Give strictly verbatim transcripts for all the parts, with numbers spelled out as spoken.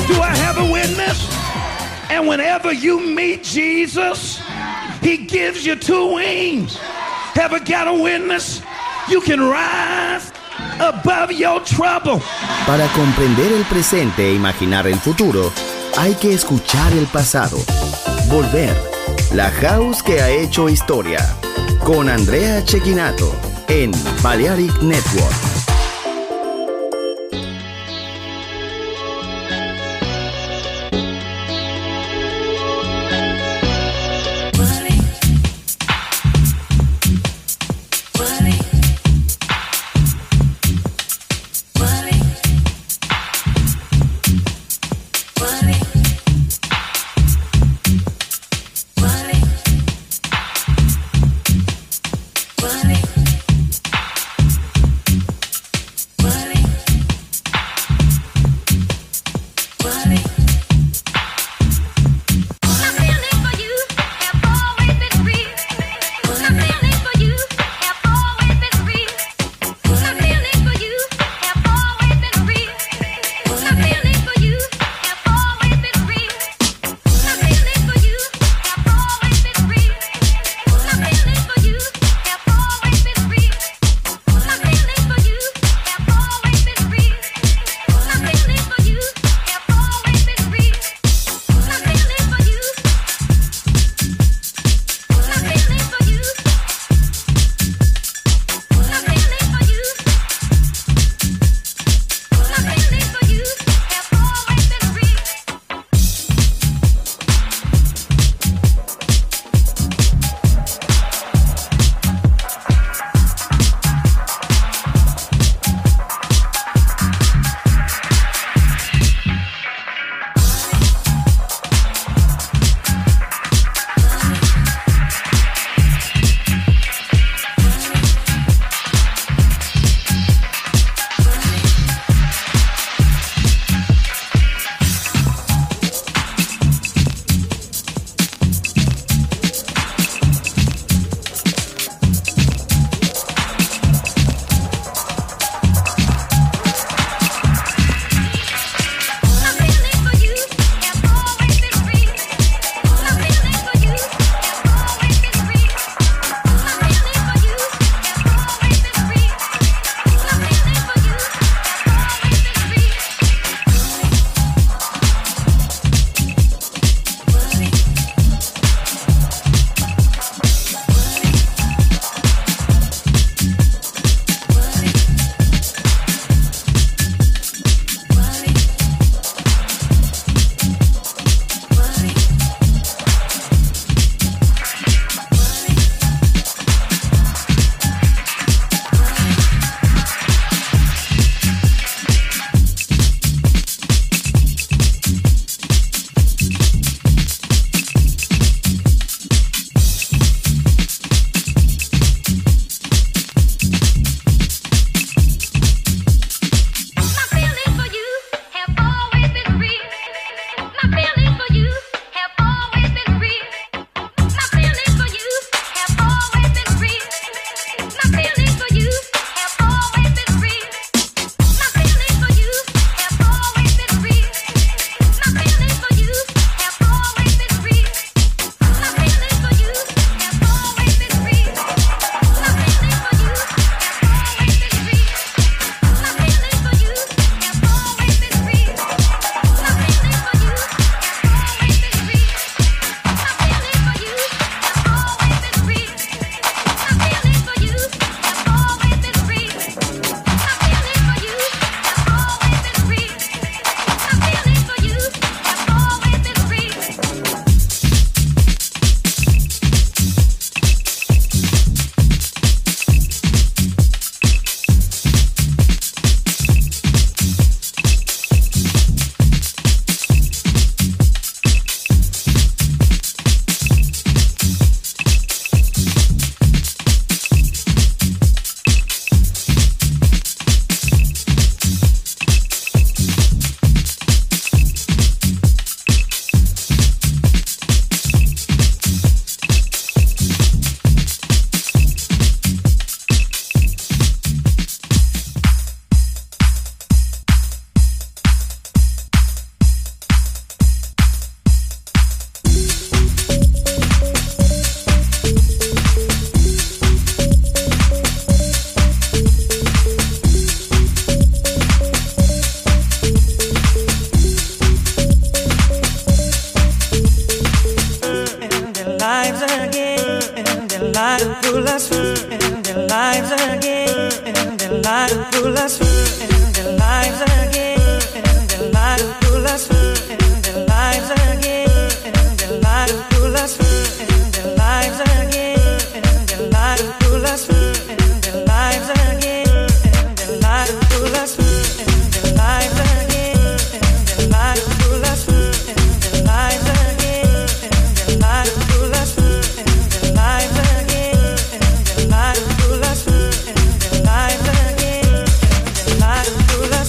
Do I have a witness? And whenever you meet Jesus, he gives you two wings. Ever got a witness? You can rise above your trouble. Para comprender el presente e imaginar el futuro, hay que escuchar el pasado. Volver. La House que ha hecho historia. Con Andrea Cecchinato en Balearic Network. pull us in their lives again, in their lives pull us in their lives again, in their lives pull us in their lives again, in their lives pull us in their lives again, in their lives pull us in their lives again, in their lives pull us in their lives again, in their lives pull us in their lives again, in their lives pull us in their lives again, in their lives pull us in their lives again, in their lives pull us.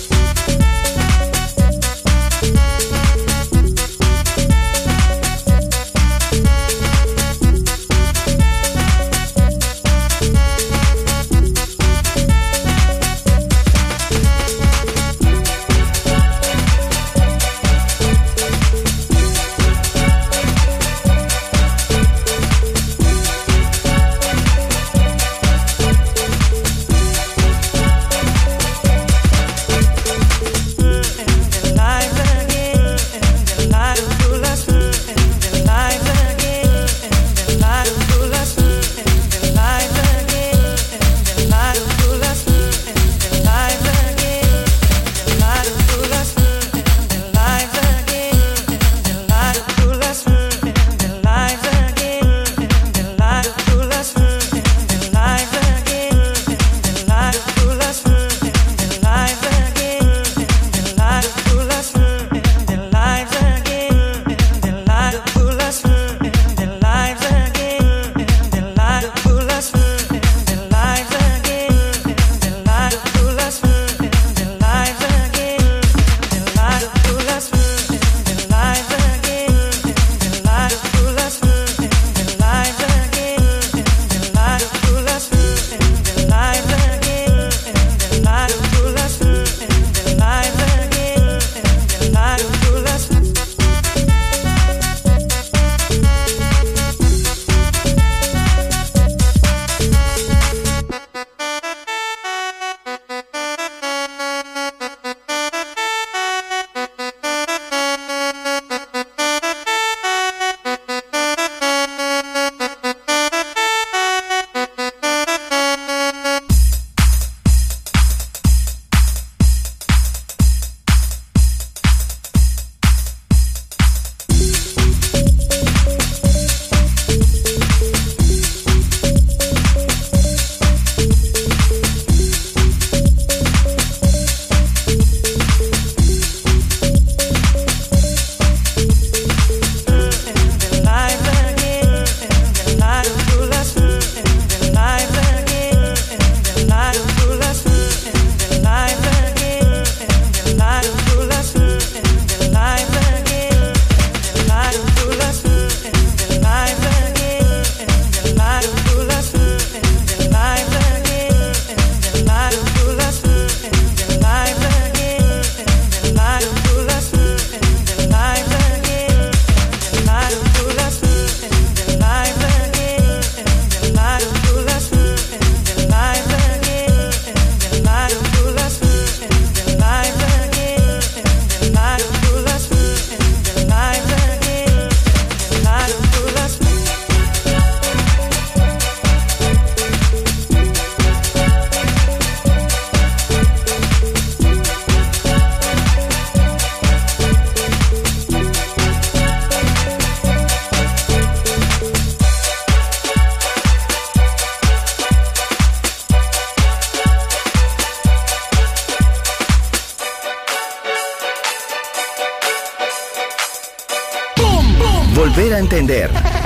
Volver a entender.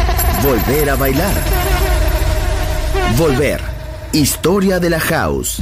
Volver a bailar. Volver. Historia de la House.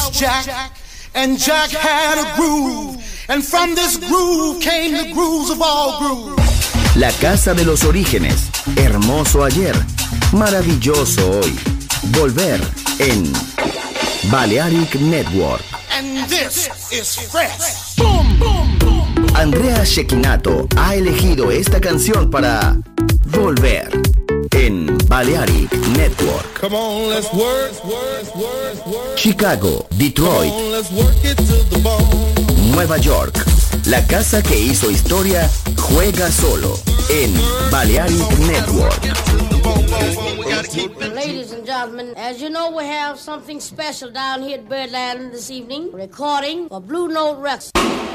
was Jack, and Jack had a groove, and from this groove came the grooves of all grooves. La casa de los orígenes, hermoso ayer, maravilloso hoy. Volver en Balearic Network. And this is fresh. Boom, boom, boom. Andrea Cecchinato ha elegido esta canción para Volver en Balearic Network. Come on, let's work, work, work, work. Chicago, Detroit, Come on, let's work it to the bone. Nueva York. La casa que hizo historia juega solo en Balearic Network. Ladies and gentlemen, as you know, we have something special down here at Birdland this evening. Recording for Blue Note Records.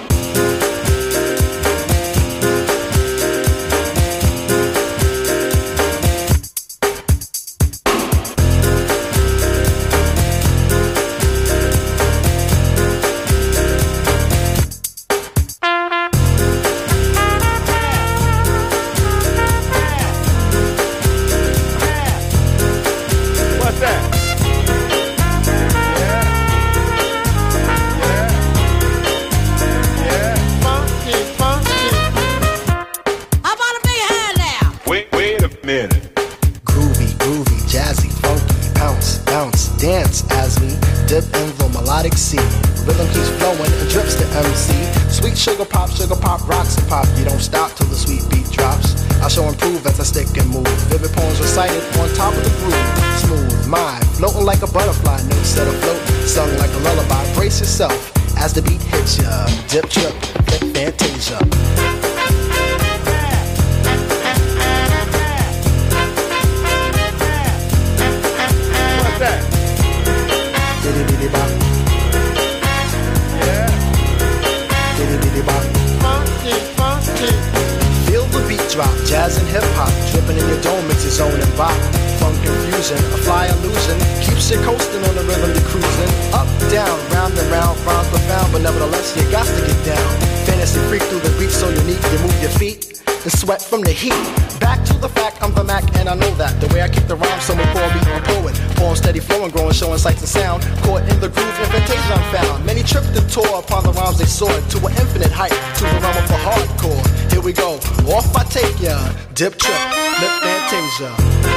Sugar pop, sugar pop, rocks and pop. You don't stop till the sweet beat drops. I shall improve as I stick and move. Vivid poems recited on top of the groove. Smooth mind, floating like a butterfly. Notes set afloat, sung like a lullaby. Brace yourself as the beat hits ya. Dip, trip, flip, fantasia. What's that? Diddy diddy bop. Funky, funky. Feel the beat drop, jazz and hip hop, dripping in your dome makes your zone and bop. Funk confusion, a fly illusion, keeps you coasting on the rhythm you're cruising. Up, down, round and round, rhymes profound, but nevertheless you got to get down. Fantasy freak through the beat so unique, you move your feet and sweat from the heat. Back to the fact, I'm the Mac and I know that. The way I kick the rhyme, someone call me a poet. Poem steady flowing, growing, showing sights and sound. Caught in the groove, invitation I'm found. Many tripped and tore upon the rhymes they soared to an infinite height, to the realm of the hardcore. Here we go, off I take ya. Dip, trip, flip, fantasia.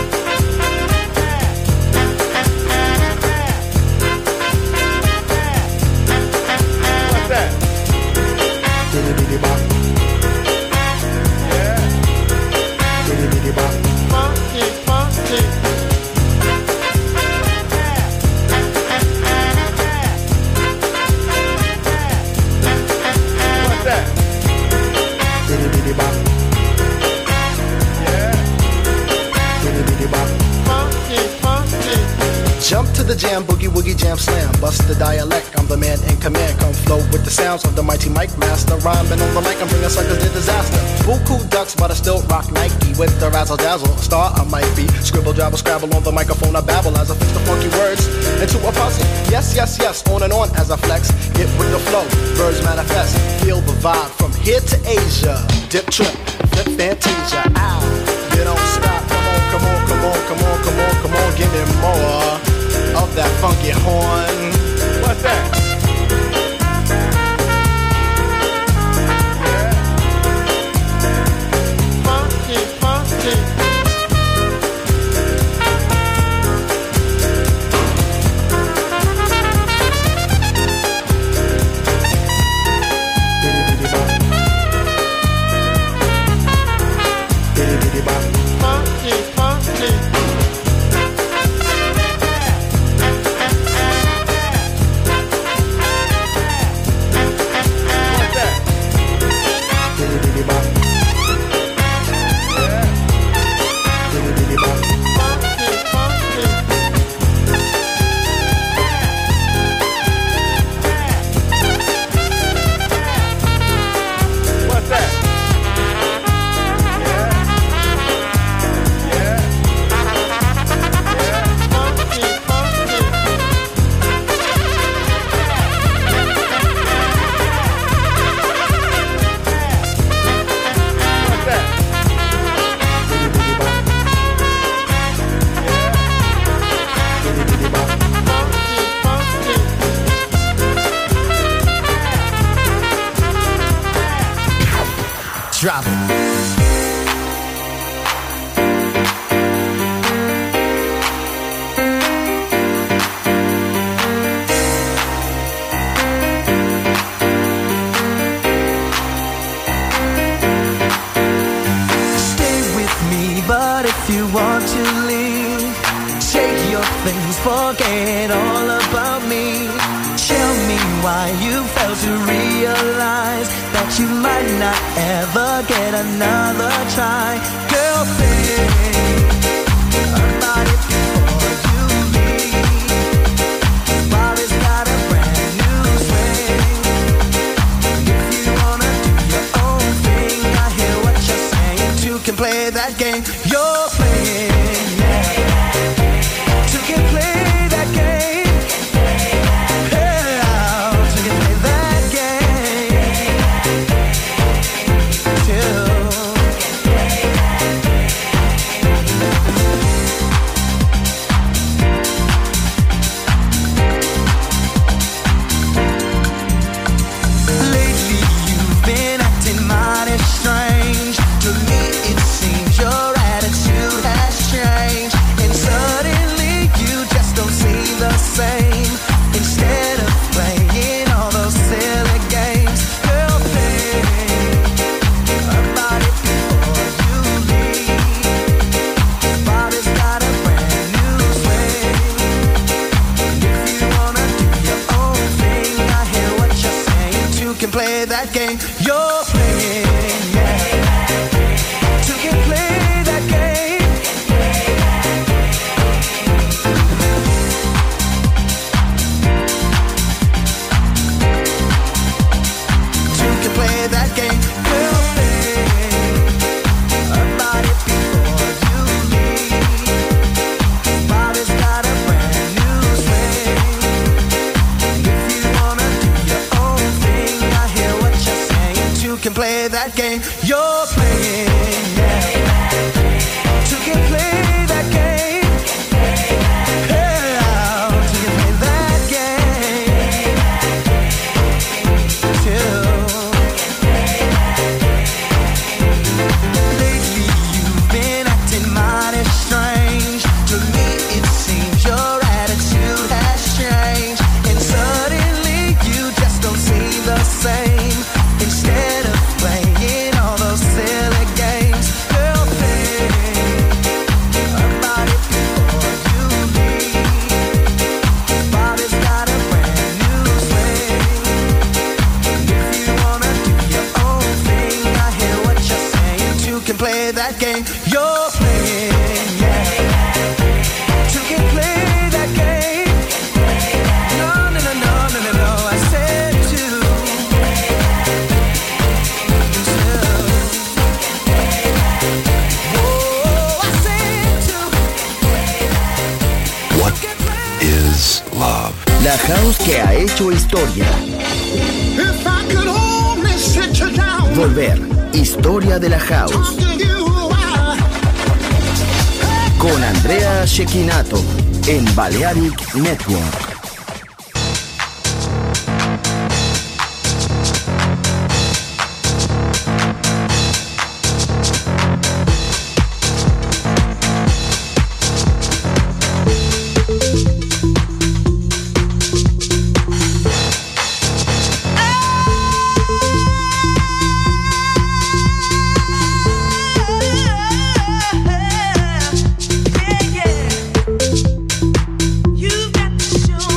What's that? Diddy diddy bop. Diddy diddy bop. Funky, funky. What's that? Diddy diddy bop. Diddy diddy bop. Funky, funky. Jump to the jam, boogie woogie jam slam. Bust the dialect, I'm the man in command. Come flow with the sounds of the mighty mic master. Rhyming on the mic and bring us suckers to disaster. Buku ducks, but I still rock Nike with the razzle dazzle. Star I might be. Scribble, jabble, scrabble on the microphone. I babble as I fix the funky words into a puzzle. Yes, yes, yes, on and on as I flex. Get with the flow, birds manifest. Feel the vibe from here to Asia. Dip, trip, flip, fantasia. Ow, you don't stop. Come on, come on, come on, come on, come on, come on. Give me more of that funky horn. What's that? Funky, funky. Diddy diddy bop. Diddy diddy bop. Funky, funky. things, forget all about me. Tell me why you failed to realize that you might not ever get another try. Girl, think about it before you leave. Bobby's got a brand new swing. If you wanna do your own thing, I hear what you're saying. Two can play that game you're playing, yeah. Two can play that game. Play that game you're playing, yeah. Two can play that game. Two can play that game we'll play about it before you leave. Bobby's got a brand new swing. If you wanna do your own thing, can play that game you're playing, yeah. Two can play that game. Yeah, two can play that game. Two. Lately you've been acting mighty strange. To me it seems your attitude has changed, and suddenly you just don't seem the same. Instead of playing all those silly games, girl, think about it before you leave. Bobby's got a brand new swing. If you wanna do your own thing, I hear what you're saying. Two can play that game you're playing, yeah. Two can play that game. No, no, no, no, no, no, no. I said two. Love. La house que ha hecho historia. If I could only sit you down. Volver. Historia de la house. Con Andrea Cecchinato en Balearic Network. You've got to show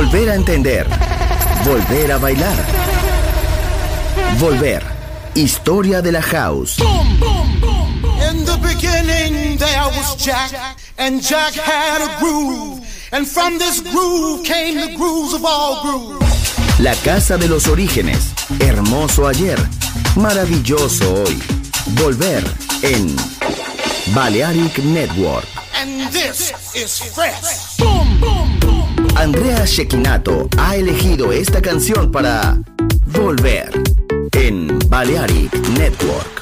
Volver a entender. Volver a bailar. Volver. Historia de la house. In the beginning there was Jack, and Jack had a groove, and from this groove came the grooves of all grooves. La casa de los orígenes. Hermoso ayer. Maravilloso hoy. Volver en Balearic Network. And this is fresh. Boom, boom, boom. Andrea Cecchinato ha elegido esta canción para Volver en Balearic Network.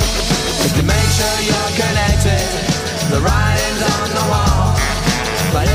Make sure you're connected. The writing's on the wall. But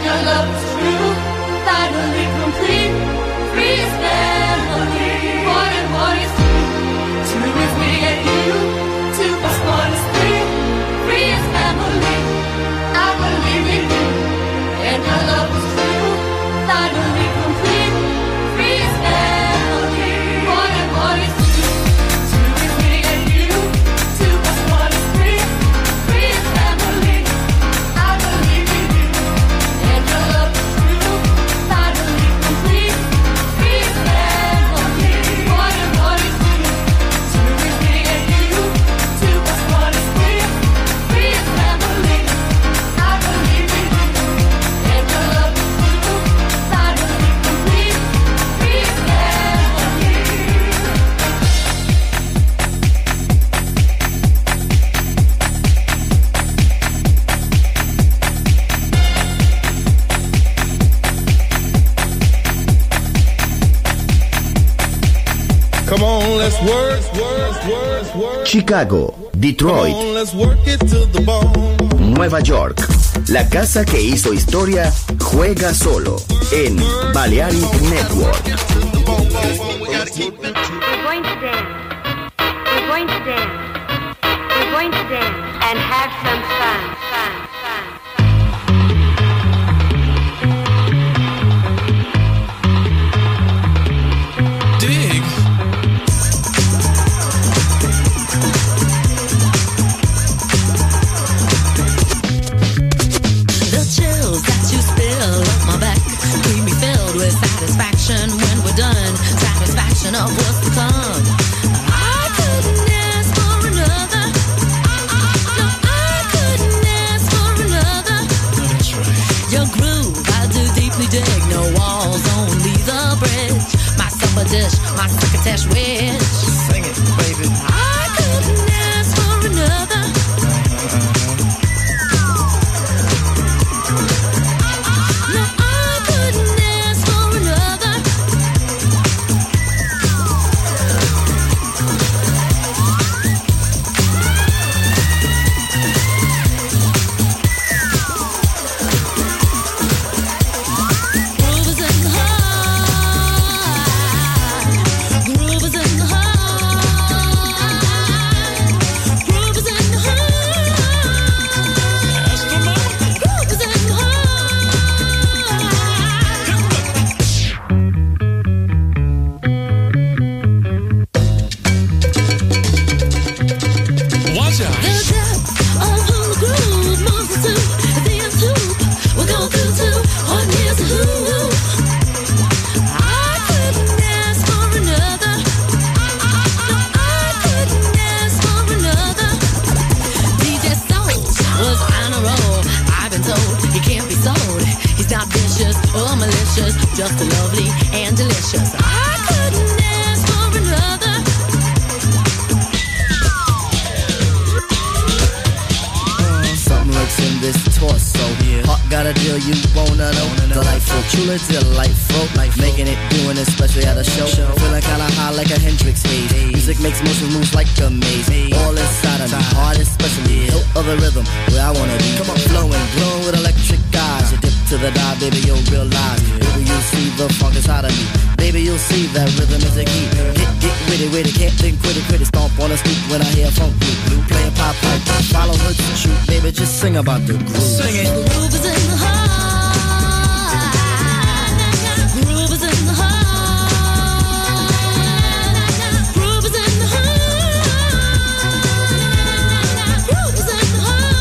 your love is true, finally complete. Free is family, one and one is two. Two is me and you, two plus one is three. Free is family, I believe in you. And your love is true, finally complete. Free is family, one and one is two. Two is me and you, two plus one is three. Free is family, I believe in you. And your love is true, finally complete. Free is family, one and one is two. Two is me and you, two plus one is three. Free is family, I believe in you. And your love is true, finally complete. Free is family. Come on, let's work, work, work, work. Chicago, Detroit, Come on, let's work it to the bone. Nueva York. La casa que hizo historia juega solo en Balearic Network. We're going to dance. We're going to dance. We're going to dance and have some fun, fun, fun. Dig. The chills that you spill up my back keep me filled with satisfaction when we're done. Satisfaction of what's to come. I couldn't ask for another. No, I couldn't ask for another. That's right. Your groove, I do deeply dig. No walls, only the bridge. My supper dish, my crocketesh wish. Sing it, baby. I couldn't ask for another. No, I couldn't ask for another. Groove is in the heart. Groove is in the heart. Groove is in the heart. Groove is in the heart. Watch out. The depth of who the groove moves us to is the end tube. We'll go through to on here's a who. I couldn't ask for another. No, I couldn't ask for another. D J Soul was on a roll. I've been told he can't be sold. He's not vicious or malicious, just lovely and delicious. I couldn't ask for another. Something lurks in this torso. Heart got a deal you wanna know. Delightful, truly delightful. Life making it, doing it, especially at a show. Feeling kinda high like a Hendrix haze. Music makes motion moves like a maze. All inside of me, heart especially. Hilt of the rhythm, where I wanna be. Come on, flowing, glowing with electric eyes. You dip to the dive, baby, you'll realize. Baby, you'll see the funk inside of me. Baby, you'll see that rhythm is a key. Get, get witty, witty, can't think, quit it, quit it. Stomp on the stoop when I hear funk blue, blue. Playing pop pipe, follow her to shoot. Baby, just sing about the groove. Sing it. The groove is in the heart. Groove is in the heart. Groove is in the heart. Groove is in the heart.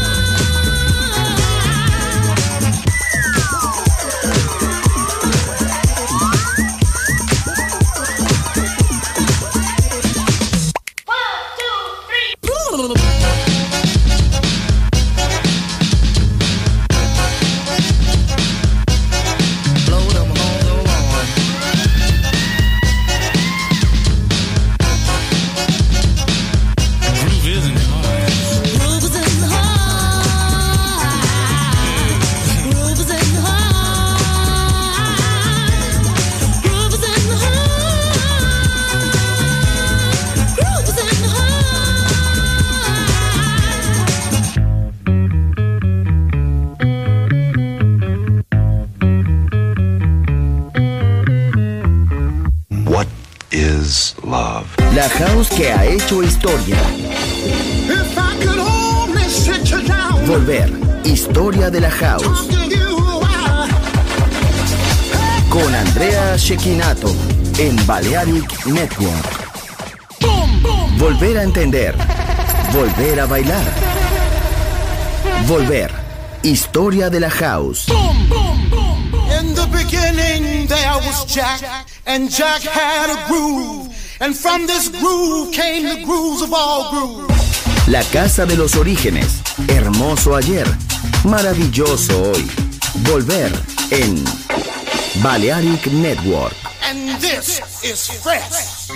La house que ha hecho historia. If I could only sit you down. Volver. Historia de la house. Talk to you, I- Con Andrea Cecchinato en Balearic Network. Volver a entender. Volver a bailar. Volver. Historia de la house. In the beginning there was Jack, and Jack had a groove, and from this groove came the grooves of all grooves. La casa de los orígenes. Hermoso ayer. Maravilloso hoy. Volver en Balearic Network. And this is fresh.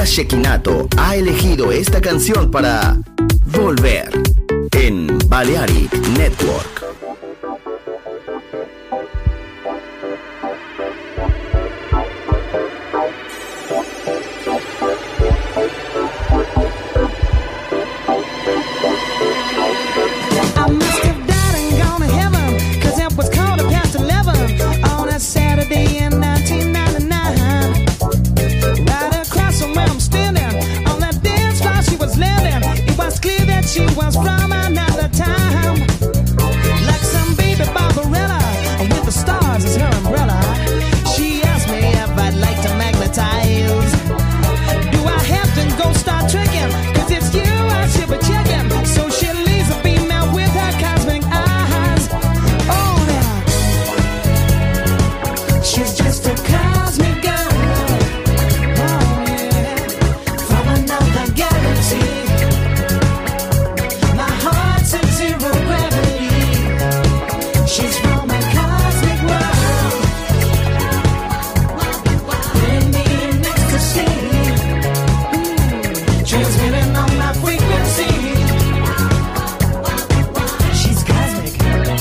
Andrea Cecchinato ha elegido esta canción para Volver en Balearic Network. She was from another time, like some baby Barbarella with the stars as her umbrella. She asked me if I'd like to magnetize. Do I have to go start tricking? Cause it's you I should be checking. So she leaves a female with her cosmic eyes. Oh, now she's just a cosmic girl. Oh, yeah, from another galaxy. She's from a cosmic world, putting me in ecstasy, mm, transmitting on my frequency. She's cosmic.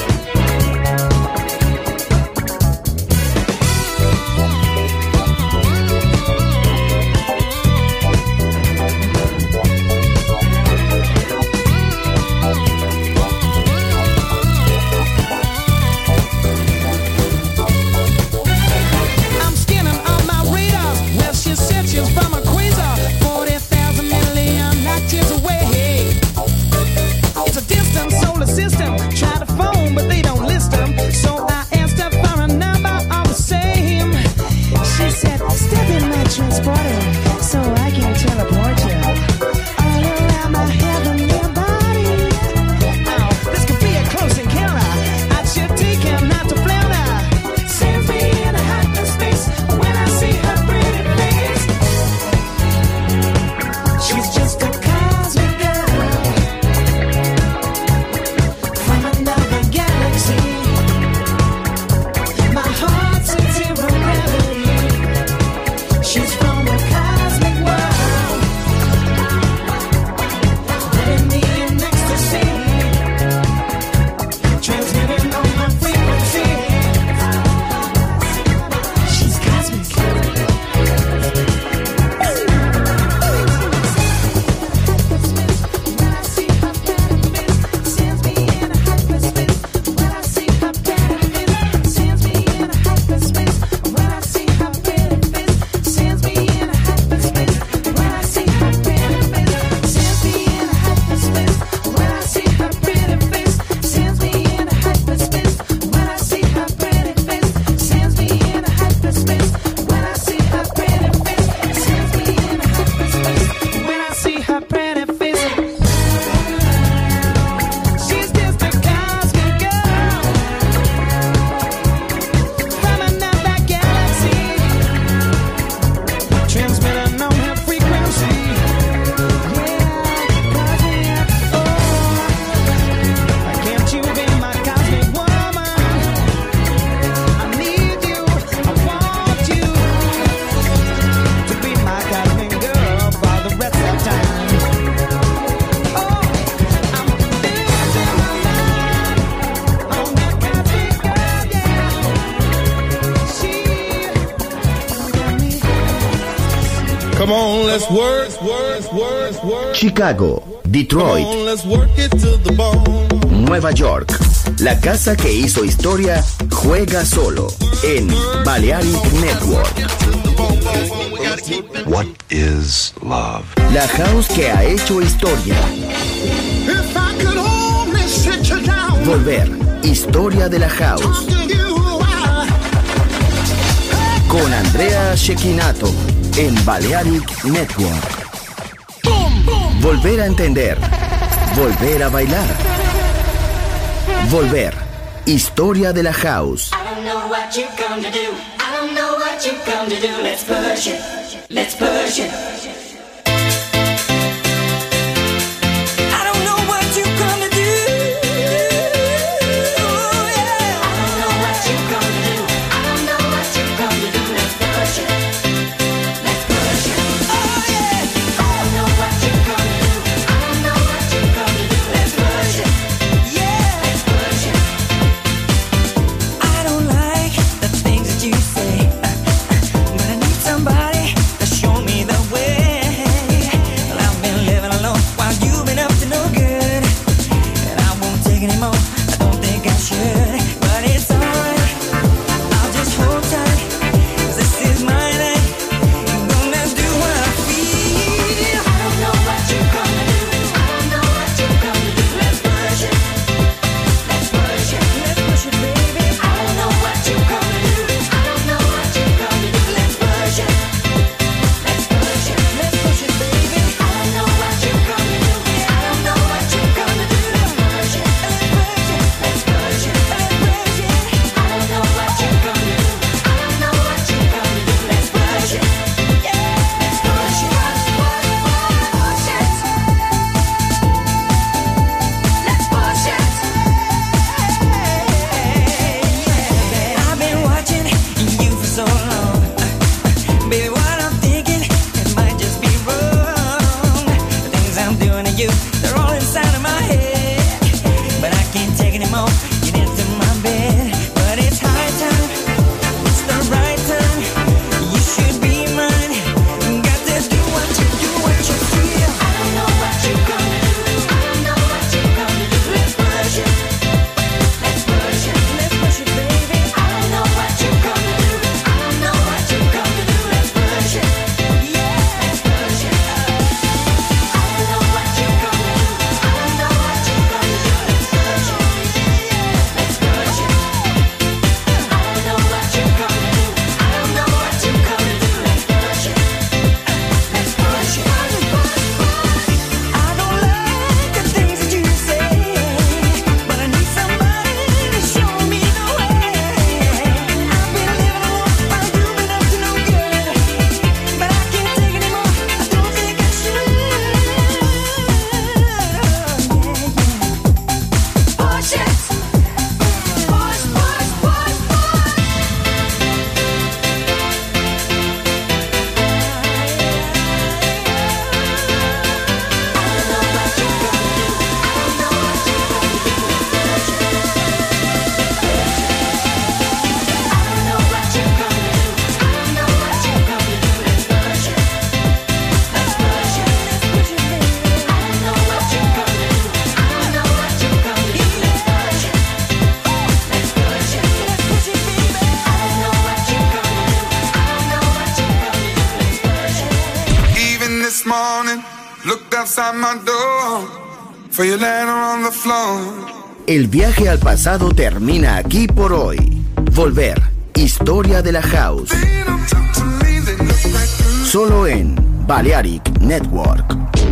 Come on, let's work, work, work, work. Chicago, Detroit, Come on, let's work it to the bone. Nueva York. La casa que hizo historia juega solo en Balearic Network. What is love? La house que ha hecho historia. If I could only sit you down. Volver, historia de la house. Con Andrea Cecchinato en Balearic Network. Volver a entender. Volver a bailar. Volver, historia de la house. I don't know what you come to do. I don't know what you come to do. Let's push it. Let's push it. Oh, yeah. outside my door, for you later on the floor. El viaje al pasado termina aquí por hoy. Volver, historia de la house. Solo en Balearic Network.